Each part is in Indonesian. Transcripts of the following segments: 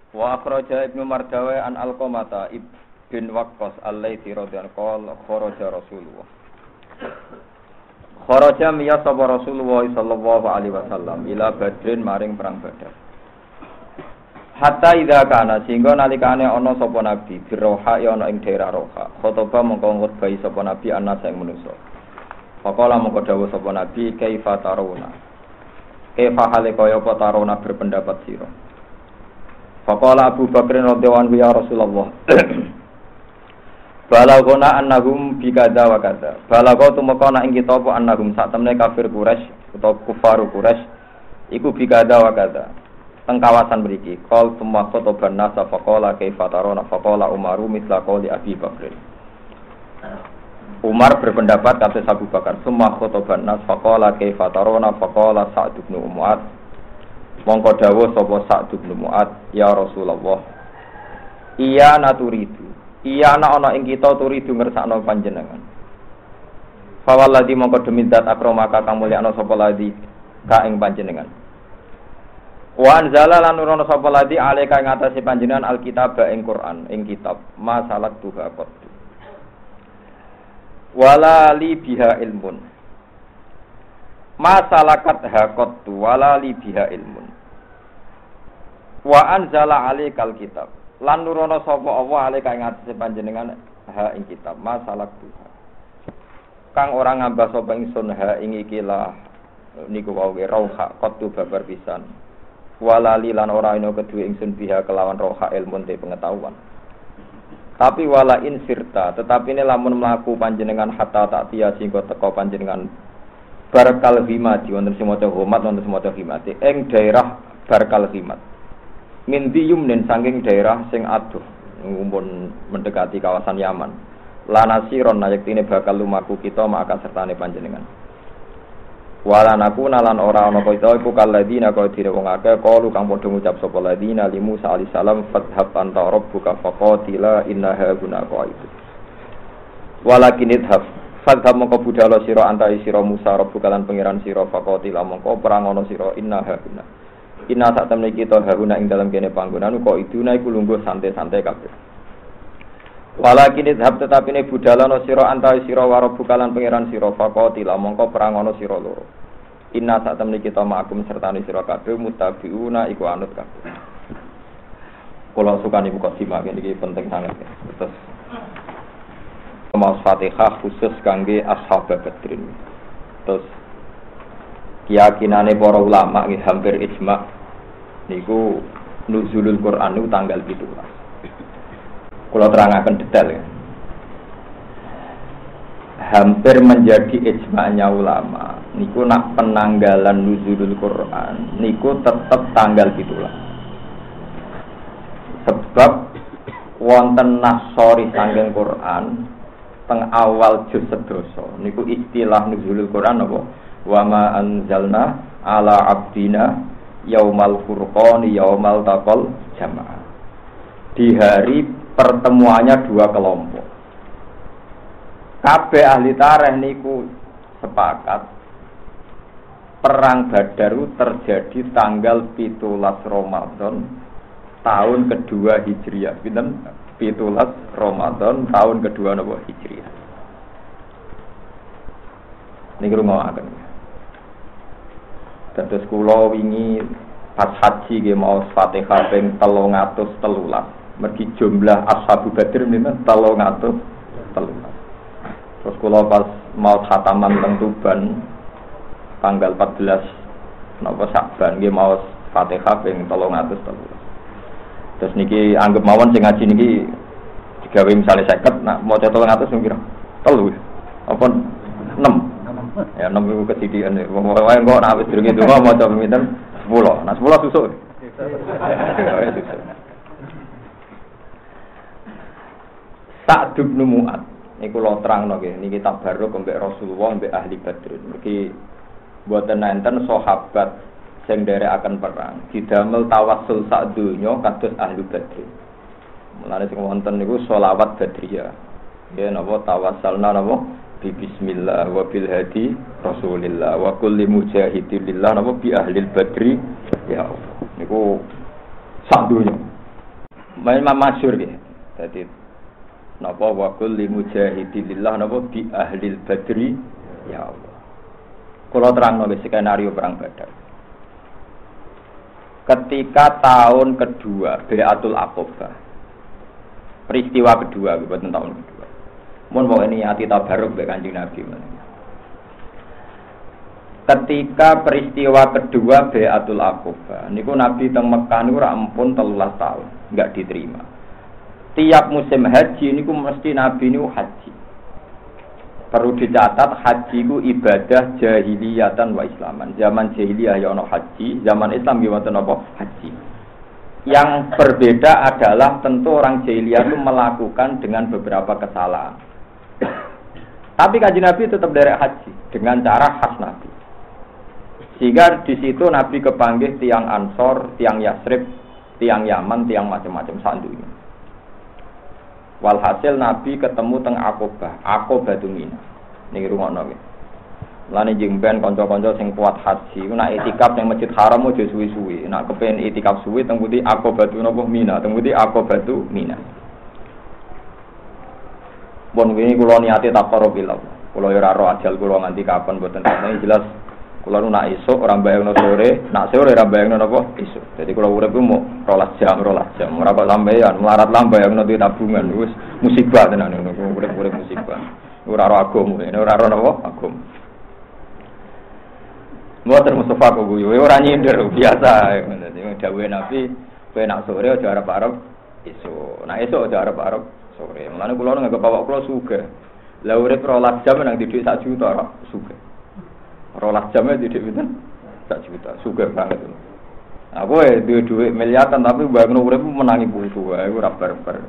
Wa akhraja Ibnu Mardawi an Alqamata ibn Waqqas al-Laitsi radhiyallahu anhu kharaja Rasulullah. Kharaja miya sapa Rasulullah sallallahu alaihi wasallam ila Badrin maring perang Badar. Hatta idza kana sehingga nalikane ana sapa nabi biroha ya ana ing daerah Roha. Khotoba mongko ngutbahi sapa nabi ana sing manusa. Faqala mongko dawuh sapa nabi kaifa tarawna. Kaifa hale kaya apa tarawna berpendapat sira. Faqala Abu Bakr radhiyallahu anhu ya Rasulullah. Balagona annahum bi kadza wa kadza. Balago tumeka ana ing kita apa annahum sak temne kafir Quraisy utawa kufaru Quraisy iku bi kadza wa kadza. Teng kawasan mriki. Qal summa khataban nasa faqala kaifa tarona faqala Umaru mithla qali Abi Bakr. Umar berpendapat kata Abu Bakar summa khataban nas faqala kaifa tarona faqala Sa'd bin Mu'adz. Mongko dawuh sapa Sa'd bin Mu'adz ya Rasulullah. Iya naturidu. Iya ana ing kita turidu ngersakno panjenengan. Fawalladzi mongko demi zat akramaka kang mulyana sapa ladzi ka ing panjenengan. Wa anzala lan nurono sapa ladzi alika ing atase panjenengan alkitab ing Quran ing kitab masalat tuha qad. Wala li biha ilmun. Masalakat haqat wala li biha ilmun. Wa anzala alikal kitab. Lan nurono sapa Allah alika ing atase panjenengan ha ing kitab masalak tuha. Kang ora ngambah sapa ingsun ha ing ikilah niku wae rauha qad babar pisan. Wala li lan ora ana kedue ingsun biha kelawan rauha ilmun te pengetahuan. Tapi wala in sirta tetapi ini lamun mlaku panjenengan hatta tak tiya singgo teka panjenengan Barkal Himat, wonten semoco homat, wonten semoco himate, ing daerah Barkal Himat. Min diyumnen saking daerah sing adoh, ngumpul mendekati kawasan Yaman. Lanasiron nayektine bakal lumaku kita maka sertane panjenengan. Walanaku nalan ora ana kita iku kaladina kaya dire wong akeh kalu kang padha ngucap sapa ladina li Musa alaihi salam fadhhab anta rabbuka faqatila innaha guna qaidu. Walakin idhab fadhab mongko budhalo sira antai sira Musa rabbuka lan pangeran sira faqatila mongko perang ana sira innaha guna. Inna sak temne kita haruna ing dalem kene panggonan kok iduna iku lungguh santai-santai kabeh. Walakin idhab tetapi ne budalana sira antai sira rabbuka lan pangeran sira faqatila mongko perang ana sira loro. Inna sak temne kita ma'akum sertane sira kabeh mutabiuna iku anut kabeh. Kula sukani buka simak iki penting sangat. Terus Mas Fatihah khusus kangge ashab Badrin. Terus keyakinane para ulama nggih hampir ijma' niku nuzulul Quran niku tanggal 17. Kula terangaken detail ya. Hampir menjadi ijma'nya ulama niku nak penanggalan nuzulul Quran niku tetap tanggal 17. Sebab wonten nasori saking Quran teng awal juz sedoso niku istilah nuzulul Quran apa wa ma anzalna ala abdina yaumal furqan yaumal taqal jamaah di hari pertemuannya dua kelompok. Kabeh ahli tarikh niku sepakat perang Badar terjadi tanggal 17 Ramadan tahun kedua Hijriah. Pinten? 17 Ramadan tahun kedua napa Hijriah. Niki rumahaken. Dados kula wingi pas haji nggih maos Fatihah ping 313. Mergi jumlah ashabu Badr pinten 313. Terus kula pas maos khataman teng Tuban tanggal 14 napa Sa'ban nggih maos Fatihah ping 313. Terus niki anggap mawon sing ngaji niki digawe misale 50 nak maca 300 sing kira 3 apa 6 ya 6 iku kesidikan wae kok nek wis durung itu maca pinten 10 nah 10 susuk Sa'd bin Mu'adz niku lo terangno nggih niki tabarruk mbek Rasulullah mbek ahli Badr niki mboten enten sahabat sing nderekaken perang didamel tawassul sak donya kados ahli Badr. Mulane sing wonten niku sholawat Badriyah. Nggih napa tawassalna napa bi bismillah wa bil hadi Rasulillah wa kulli mujahidin lillah napa bi ahli Badri ya Allah. Niku sak donya. main masyhur nggih. Dadi napa wa kulli mujahidillah napa bi ahlil badri ya Allah. Kula terangno skenario perang Badar. Ketika tahun kedua Bai'atul Aqabah. Peristiwa kedua bukan tahun kedua. Mun mau ini ati tabarruk mbek Kanjeng Nabi. Ketika peristiwa kedua Bai'atul Aqabah niku Nabi teng Mekah niku ra ampun 13 tahun enggak diterima. Tiap musim haji niku mesti Nabi niku haji. Perlu dicatat haji ku ibadah jahiliyatan wa islaman. Zaman jahiliyah ya ono haji, zaman Islam ya wonten apa? Haji. Yang berbeda adalah tentu orang jahiliyah itu melakukan dengan beberapa kesalahan. Tapi Kanjeng Nabi tetap derek haji dengan cara khas Nabi. Sehingga di situ Nabi kepanggih tiang Ansor, tiang Yasrib, tiang Yaman, tiang macam-macam sandunya. Walhasil Nabi ketemu teng Aqabah, Aqabah Mina. Niki rungokno nggih. Lane jengben kanca-kanca sing kuat haji, nek itikaf ning Masjid Haram aja suwi-suwi. Nek kepen itikaf suwi teng pundi Aqabah Mina, teng pundi Aqabah Mina. Bon wingi kula niate taqarrubillah. Kula ora ro ajal kula nganti kapan mboten ngerti jelas. Kula nu nak esuk ora bayangno sore, nak sore ora bayangno napa esuk. Dadi kula urip ku mau 12 jam. Ora kok sampeyan melarat lah bayangno duit tabungan wis musibah tenan ngono. Urip musibah. Ora ro agama, ora ro napa agama. Mboten Mustafa kok guyu, ora nyindir biasa. Dadi dawuhe Nabi, kowe nak sore aja arep-arep esuk. Nak esuk aja arep-arep sore. Mulane kula nganggep bapak kula sugih. Lah urip 12 jam nang didik 1 juta ora sugih. 12 jamnya didik pinten? 1 juta. Sugih banget. Aku duwe miliaran tapi bayangno urip menangi putu wae ora barbar.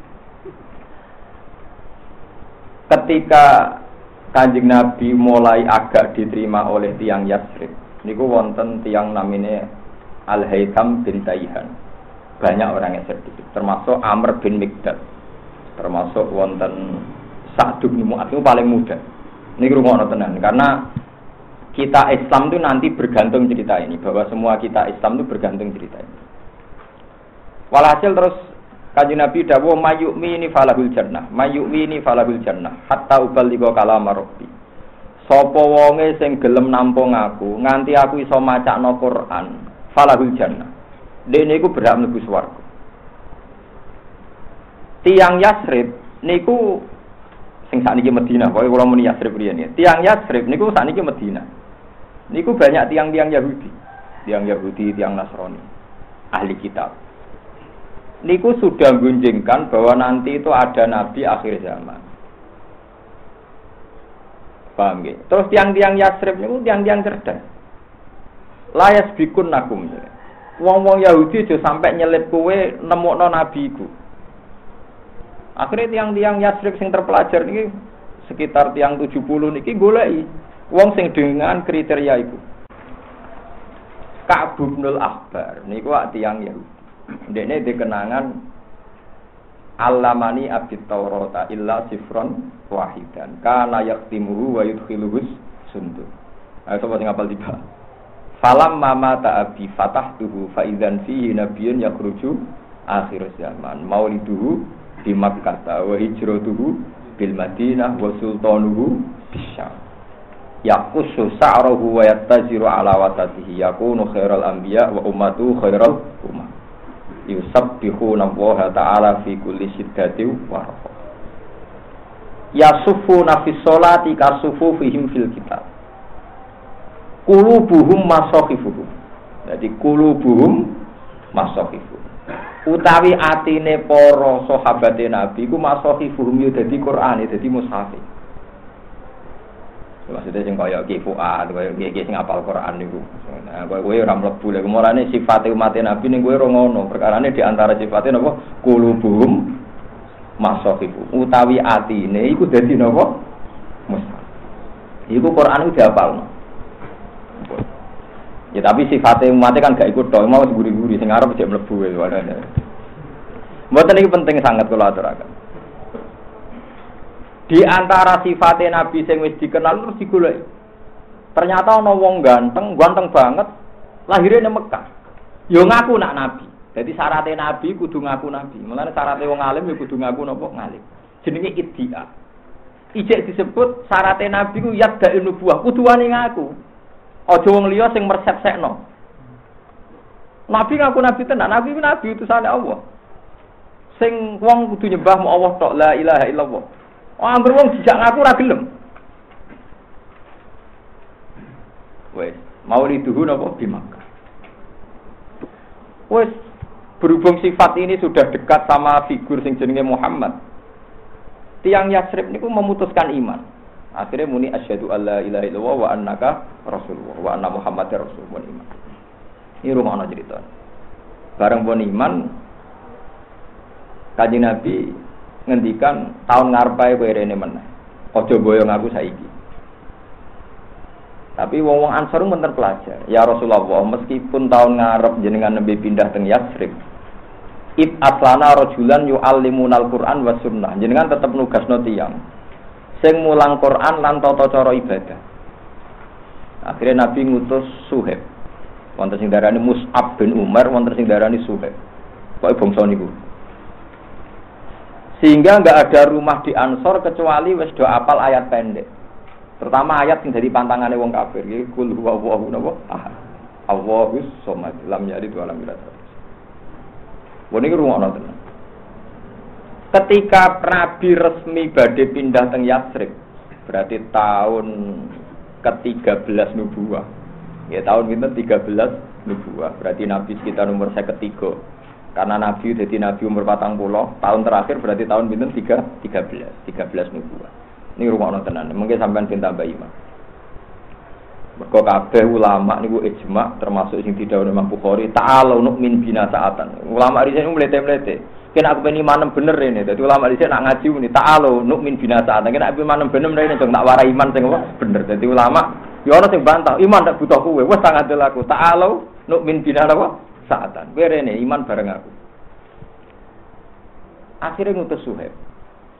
Ketika Kanjeng Nabi mulai agak diterima oleh tiang Yasrib, niku wonten tiang namine Al-Haytham bin Taihan. Banyak orang yang sedikit, termasuk Amr bin Mikdad. Termasuk wonten Sa'd bin Mu'adz itu paling muda. Niki rumono tenan karena kita Islam itu nanti bergantung cerita ini, bahwa semua kita Islam itu bergantung cerita ini. Walhasil terus Kanjeng Nabi dawuh mayyu'mini falahul jannah, mayyu'mini falahul jannah, hatta uballigha kalam rabbi. Sapa wonge sing gelem nampung aku, nganti aku iso macakno Quran, falahul jannah. Dene iku berhak mlebu swarga. Tiang Yasrib niku sing sakniki Madinah, pokoke kula muni Yasrib riyen ya. Tiang Yasrib niku sakniki Madinah. Niku banyak tiang-tiang Yahudi, tiang Nasrani, ahli kitab. Niku sudah gunjingkan bahwa nanti itu ada nabi akhir zaman. Paham nggih? Terus tiang-tiang Yasrib niku tiang-tiang cerdas. Layas bikun nakum. Wong-wong Yahudi aja sampai nyelip kowe nemokno nabi iku. Akhirnya tiang-tiang Yasrib sing terpelajar niki sekitar tiang 70 niki goleki wong sing dengan kriteria iku. Ka'b bin al-Ahbar niku tiang Yahudi. Ndekne dikenangan Alamani abit Taurata illa sifron wahidan kana yaktimuhu wa yudkhiluhus sundur. Ayo sapa sing hafal tiba. Falam mama ta'abi fatahtuhu fa idzan fihi nabiyyun yakhruju akhir zaman mauliduhu di Makkah wa hijratuhu bil Madinah wa sultanuhu bisyam. Yaqusu sa'ruhu wa yattaziru ala watatihi yakunu khairal anbiya wa ummatu khairal ummah. Yusabbihuna wa ta'ala fi kulli shiddatin wa rafa. Yasufuna fi sholati kasufufihim fil kitab. Qulubuhum masakhifuhum. Jadi qulubuhum masakhifuhum. Utawi atine para sahabate Nabi ku masakhifuhum yo dadi Quran, dadi mushaf. Maksudnya sing kaya Ki Fuad, kaya Ki sing apal Quran niku. Nah, kowe ora mlebu lek umurane sifate umat Nabi ning kowe ora ngono. Perkarane di antara sifate napa? Qulubuhum masakhifu. Utawi atine iku dadi napa? Mushaf. Iku Quran iku diapalno. Ya tapi sifate umatnya kan gak ikut tok, mau guri-guri sing arep jek mlebu wae. Mboten iki penting sangat kula aturaken. Di antara sifatnya Nabi sing wis dikenal terus digoleki. Ternyata ana wong ganteng banget, lahirnya ning Mekah. Yo ngaku nak Nabi. Jadi syaratnya nabi kudu ngaku nabi. Mulane syaratnya wong alim ya kudu ngaku napa ngalim. Jenenge iddia. Ijek disebut syaratnya nabi ku yadda nubuwah, kudu wani ngaku. Aja wong liya sing mersepsekno. Nabi ngaku nabi tenan, nabi utusane Allah. Sing wong kudu nyembah mu Allah tok, la ilaha illallah. Angger wong dijak ngaku ora gelem. Wes, mauliduhu napa di Makkah. Wes, berhubung sifat ini sudah dekat sama figur sing jenenge Muhammad. Tiang Yasrib niku memutuskan iman. Akhirnya muni asyhadu alla ilaha illallah wa annaka rasulullah wa anna muhammadar rasulullah iman. Ini rumono cerita. Bareng pun iman Kanjeng Nabi ngendikan tahun ngarepe kowe rene meneh. Aja boyong aku saiki. Tapi wong Ansor men terpelajar. Ya Rasulullah, meskipun tahun ngarep jenengan nembe pindah teng Yasrib, aslana rajulan yu'allimunal Qur'an was sunnah. Jenengan tetep nugasno tiyang sing mulang Qur'an lan tata cara ibadah. Akhirnya Nabi ngutus Suhaib. Wonten sing darani Mus'ab bin Umar, wonten sing darani Suhaib. Pokoke bangsa niku. Sehingga enggak ada rumah di Ansor kecuali wis do apal ayat pendek. Terutama ayat yang dari pantangannya wong kafir, iki kul huwallahu ahad. Allahus somad, lam yalid wa lam yulad. Wong iki rungokno tenan. Ketika Nabi resmi badhe pindah teng Yasrib, berarti tahun ke-13 nubuwah. Ya tahun pinten 13 nubuwah. Berarti Nabi sekitar umur 53. Karena Nabi jadi Nabi umur 40, tahun terakhir berarti tahun pinten 13 nubuwah. Ini rumah tenan, mungkin sampean pinta tambah iman. Mergo kabeh ulama niku ijma termasuk sing didhawuhi Imam Bukhari, ta'alu nu'min bina sa'atan. Ulama riyen mlete-mlete. Kena aku ben iman bener rene. Dadi ulama riyen nak ngaji muni ta'alu nu'min bina sa'atan. Kena aku iman bener rene dong tak warai iman sing bener. Dadi ulama ya ana sing bantah, iman tak butuh kowe. Wes tak ngandel aku. Ta'alu nu'min bina sa'atan. Kowe rene iman bareng aku. Akhirnya ngutus Suhaib.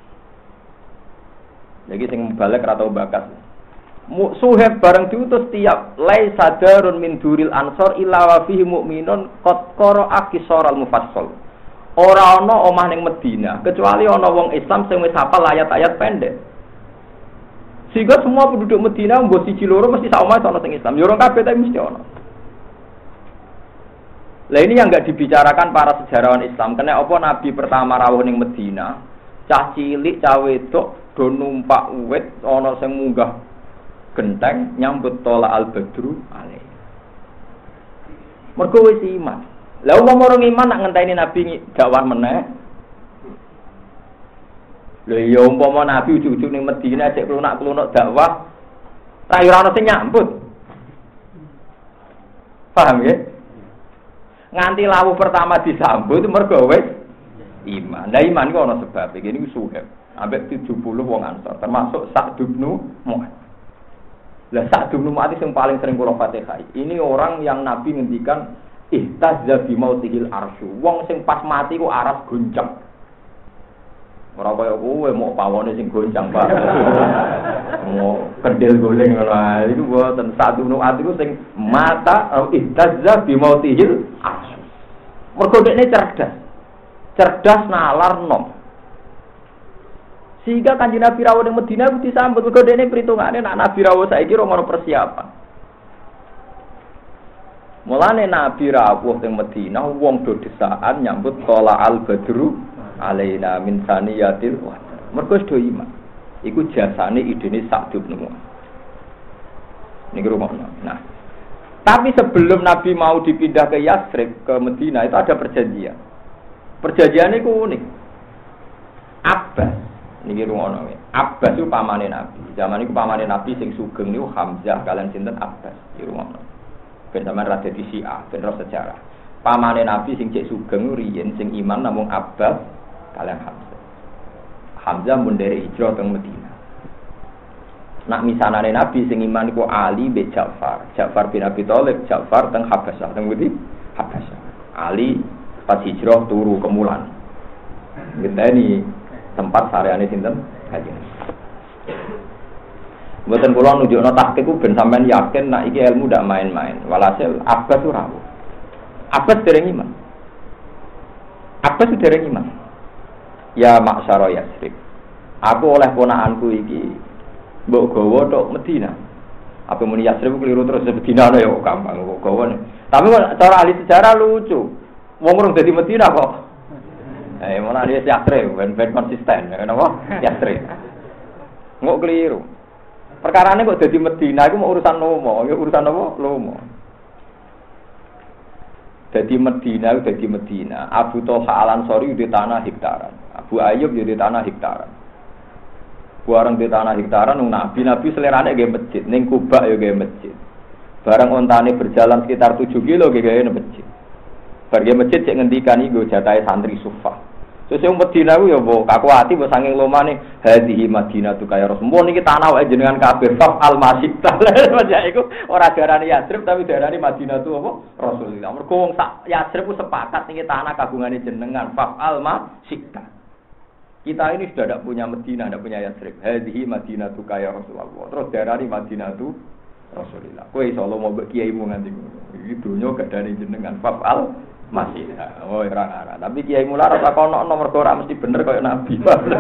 Jadi sing balik atau bakas. Suhaib bareng diutus tiap lai sadarun min duril ansor illa wa fihi mu'minun qad qara'a qisaral mufassal. Ora ana omah ning Madinah kecuali ana wong Islam sing wis hafal ayat-ayat pendek. Sehingga semua penduduk Madinah mbok siji loro mesti sak omah ana sing Islam. Ya ora kabeh tapi mesti ana. Lah ini yang enggak dibicarakan para sejarawan Islam. Kena apa Nabi pertama rawuh ning Madinah, cah cilik, cah wedok do numpak uwit ana sing munggah genteng nyambut tola al-badru alaih. Mergo wis iman. Lah wong orang iman nak ngenteni Nabi dakwah meneh. Lha ya umpama Nabi ujug-ujug ning Madinah cek klunak-klunuk dakwah ra ora ono sing nyambut. Paham ya? Nganti lawuh pertama disambut mergo wis iman. Lah iman iku ana sebab iki niku Suhaib. Ambek 70 wong Ansor, termasuk Sa'd bin Mu'adz. Lah Sa'd bin Mu'adz yang paling sering kula Fatihah. Ini orang yang Nabi ngendikan ihtazza bi mautihil arsy. Wong sing pas mati ku aras goncang. Ora kaya kowe mau pawone sing goncang, Pak. Mau kendel goleng ngono ae. Iku mboten Sa'd bin Mu'adz iku sing mata ihtazza bi mautihil arsy. Mergo dekne cerdas. Cerdas nalar nom. Sehingga Kanjeng Nabi rawuh ning Madinah ku disambut mergo dene perhitungane nek Nabi rawuh saiki ora ono persiapan. Mulane Nabi rawuh ning Madinah wong do desaan nyambut tola al-badru alaina min saniyatil wa. Mergo do iman. Iku jasane idene Sa'd bin Mu'adz. Niki rumakno. Nah, tapi sebelum Nabi mau dipindah ke Yasrib ke Madinah itu ada perjanjian. Perjanjian itu unik. Abbas niki rungono wae. Abbas itu pamane Nabi. Zaman iku pamane Nabi sing sugeng niku Hamzah kalian sinten Abbas. Iki rungono. Ben sampean ra dadi Syiah, ben ro sejarah. Pamane Nabi sing cek sugeng riyen sing iman namung Abbas kalian Hamzah. Hamzah mun dari hijrah teng Madinah. Nak misanane Nabi sing iman iku Ali bin Ja'far. Ja'far bin Abi Thalib, Ja'far teng Habasyah, teng Budi Habasyah. Ali pas hijrah turu ke Mulan. Ngenteni tempat sareane sinten Kanjeng. Mboten kula nunjukno tahqiq ku ben sampean yakin nek iki ilmu ndak main-main. Walhasil Abbas ora. Abbas dereng iman. Abbas dereng iman. Ya maksara Yasrib. Aku oleh ponakanku iki mbok gawa tok Medina. Apa muni Yasrib keliru terus Medina ya gampang kok gawane. Tapi cara ahli sejarah lucu. Wong urung dadi Medina kok. Mana dia Yasrib ben konsisten ya napa? Yasrib. Ngok keliru. Perkarane kok dadi Medina iku mau urusan lomo, ya urusan apa? Lomo. Dadi Medina, Abu Thalha Al-Ansari di tanah hektaran. Abu Ayyub di tanah hektaran. Bareng di tanah hektaran Nabi selerane nggih masjid, ning Kuba ya nggih masjid. Bareng ontane berjalan sekitar 7 kilo nggih masjid. Bar nggih masjid cek ngendikan iki jatahe santri Sufah. Terus yang Medina ku ya mbok kakuati mbok saking lomane hadhihi Madinatu kaya Rasul. Niki tanah wae jenengan kabeh faf al-masyidah. Ya iku ora darani Yasrib tapi darani Madinatu apa? Rasulullah. Mergo wong sak Yasrib ku sepakat niki tanah kagungane jenengan faf al-masyidah. Kita ini sudah tidak punya Medina, tidak punya Yasrib. Hadhihi Madinatu kaya Rasulullah. Terus darani Madinatu Rasulullah. Kowe iso lo mau kiaimu nganti ngono. Iki donya gadane jenengan faf al masih, oh orang-orang. Tapi kiai mula rasa kono nomor ora mesti bener kayak nabi.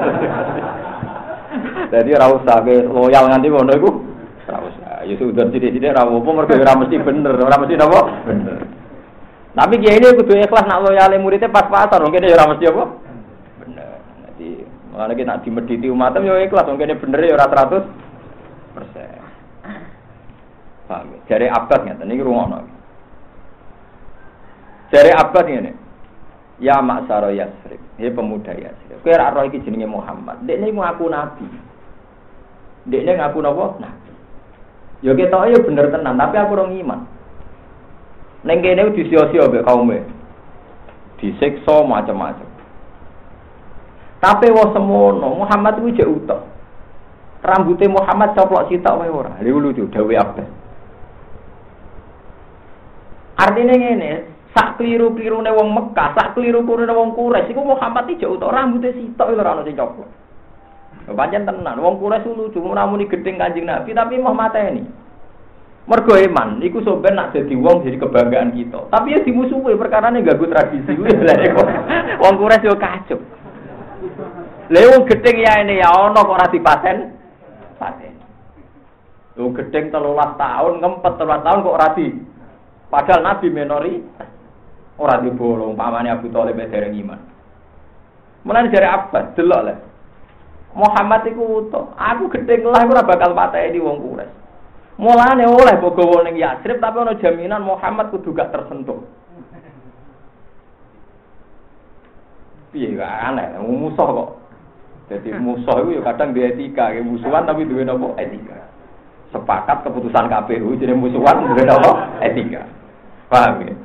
Jadi ora usah ke loyal nganti ngono iku. Ora usah. Ya sudah sithik-sithik ora apa mergo ora mesti bener, ora mesti napa? Bener. Tapi kiai ini kudu ikhlas nak loyale muridnya pas-pasan, wong kene ya ora mesti apa? Bener. Jadi mulane ki nak dimediti umatem ya ikhlas, wong kene bener ya ora 100%. Paham. Jare abad ngeten iki rungokno. Dari Abbas ngene. Ya maksara Yasrib, he pemuda Yasrib. Kowe ora roh iki jenenge Muhammad. Dekne ngaku nabi. Dekne ngaku napa? Nabi. Ya ketoke ya bener tenan, tapi aku ora iman. Ning kene disio-sio mbek kaume. Disiksa macam-macam. Tapi wong semono, Muhammad kuwi jek utuh. Rambute Muhammad coplok sitok wae ora. Lha lucu dawuh Abbas. Artine ngene, sak kliru-klirune wong Mekah, sak kliru-klirune wong Quraisy iku Muhammad iki jek utuk rambute sitok lho ora ono sing coplok. Pancen tenan, wong Quraisy lucu namuni gedeng Kanjeng Nabi tapi mau mateni. Mergo iman iku sampeyan nak dadi wong jadi kebanggaan kita. Tapi ya dimusuhi perkarane ganggu tradisi kuwi lha wong Quraisy yo kacuk. Lha wong gedeng ya ini ya ono kok ora dipaten. Paten. Lho gedeng 13 tahun, ngempet 13 tahun kok ora di. Padahal Nabi menori ora dibolong pamane Abu Thalib dereng iman. Mulane jare Abbas delok le. Muhammad iku utuh. Aku gedeng lah ora bakal pateni wong Quraisy. Mulane oleh bogowo ning Yasrib tapi ana jaminan Muhammad kudu gak tersentuh. Piye gak aneh, musuh kok. Jadi musuh itu ya kadang dia etika, musuhan tapi duwe napa etika. Sepakat keputusan KPU jadi musuhan duwe napa etika. Paham ya?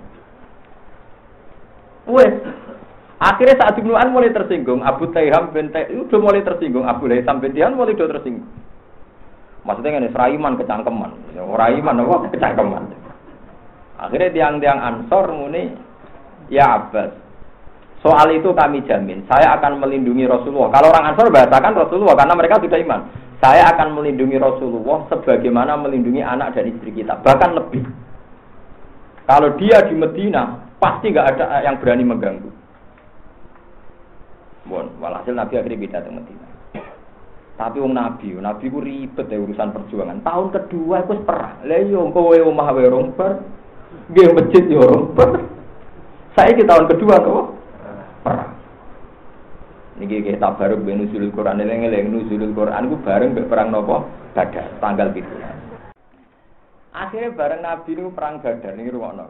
Wes. Akhirnya saat Ibnu An mulai tersinggung, Abu Taiham bin Taiham udah mulai tersinggung, Abu Laitham bin Tihan mulai udah tersinggung. Maksudnya ini seraiman kecangkeman, seraiman apa kecangkeman. Akhirnya tiang-tiang Ansor muni, ya Abbas, soal itu kami jamin, saya akan melindungi Rasulullah. Kalau orang Ansor bahasakan Rasulullah karena mereka sudah iman. Saya akan melindungi Rasulullah sebagaimana melindungi anak dan istri kita, bahkan lebih. Kalau dia di Medina, pasti nggak ada yang berani mengganggu. Bon, walhasil Nabi akhirnya beda ke Medina. Tapi wong Nabi ku ribet ya urusan perjuangan. Tahun kedua itu perang. Lah yo kowe omah wae romper. Nggih masjid yo romper. Saiki tahun kedua kok perang. Niki kita baru nuzulul Quran eling-eling nuzulul Quran ku bareng mbek perang napa? Badar tanggal 17. Akhirnya bareng Nabi niku perang Badar niki rumakno.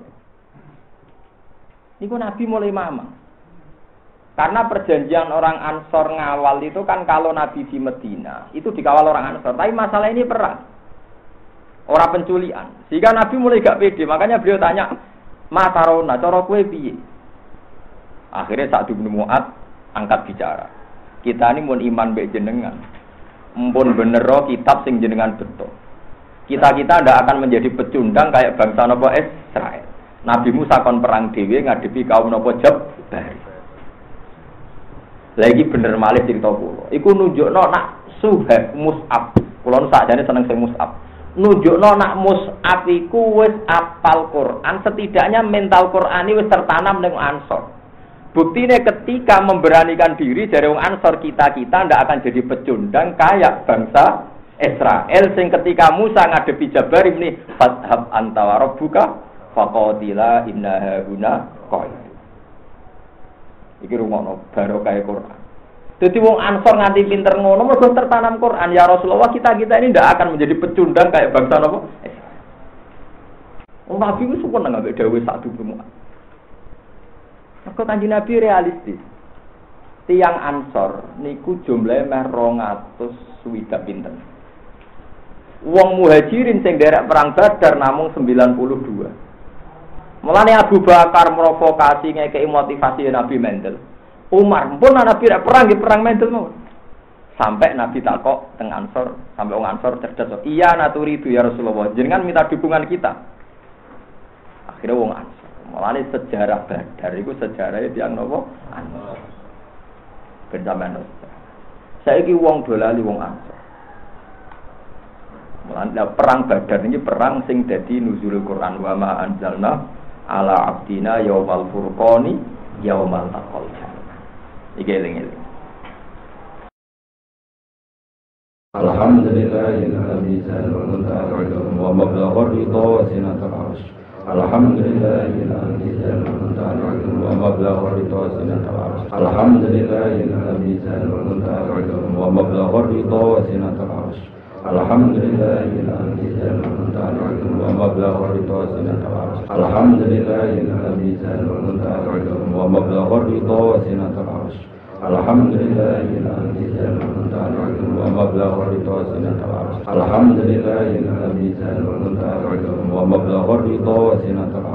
Niku Nabi mulai mamang. Karena perjanjian orang Ansor ngawal itu kan kalau Nabi di Medina itu dikawal orang Ansor. Tapi masalah ini perang, orang penculian. Sehingga Nabi mulai gak pede. Makanya beliau tanya, Matarona, cara kue piye? Akhirnya Sa'd bin Mu'adz angkat bicara. Kita ini mun iman mbek jenengan, mumpun bener kitab sing jenengan betul. Kita ndak akan menjadi pecundang kayak bangsa napa Israel. Nabi Musa kon perang dhewe ngadepi kaum napa Jabbar. Lagi bener malih cerita kula. Iku nunjukno nak Suhaib Mus'ab. Kula nu sakjane seneng sing Mus'ab. Nunjukno nak Mus'ab iku wis apal Quran, setidaknya mental Qurani wis tertanam ning Ansor. Buktinya ketika memberanikan diri dari wong Ansor kita ndak akan jadi pecundang kayak bangsa Israel sing ketika Musa ngadepi Jabarim nih fathab anta wa rabbuka faqatila inna hauna qaid. Iki rumono barokah Quran. Dadi wong Ansor nganti pinter ngono mergo tertanam Quran ya Rasulullah kita ini ndak akan menjadi pecundang kayak bangsa napa? Wong Nabi ku seneng ambek dawuh satu semua. Maka Kanjeng Nabi realistis. Tiang Ansor niku jumlahe meh 200 swidak pinten. Wong Muhajirin sing derek perang Badar namung 92. Mulane Abu Bakar provokasi ngekeki motivasi Nabi mendel. Umar pun Nabi perang nggih perang mendel mawon. Sampai Nabi takok teng Ansor, sampai wong Ansor cerdas. Iya naturi itu ya Rasulullah. Jenengan minta dukungan kita. Akhirnya wong Ansor. Mulane sejarah Badar iku sejarahé tiyang napa? Ansor. Ben sampeyan. Saiki wong dolali wong Ansor. Mulane perang Badar ini perang sing dadi nuzulul Quran wa ma anzalna ala abdina yaumal furqani yaumal taqal. Iki eling-eling. Alhamdulillahilladzi ja'ala wa mablagha ridha wa sinatal arsh. Alhamdulillahilladzi ja'ala wa mablagha ridha wa sinatal arsh. Alhamdulillahilladzi ja'ala wa mablagha ridha wa sinatal arsh. Alhamdulillahilladzi ja'ala wa mablagha ridha wa sinatal arsh. Alhamdulillahilladzi ja'ala wa mablagha ridha wa sinatal arsh. Alhamdulillahilladzi ja'ala wa mablagha ridha wa sinatal arsh. Alhamdulillahilladzi ja'ala wa mablagha ridha wa sinatal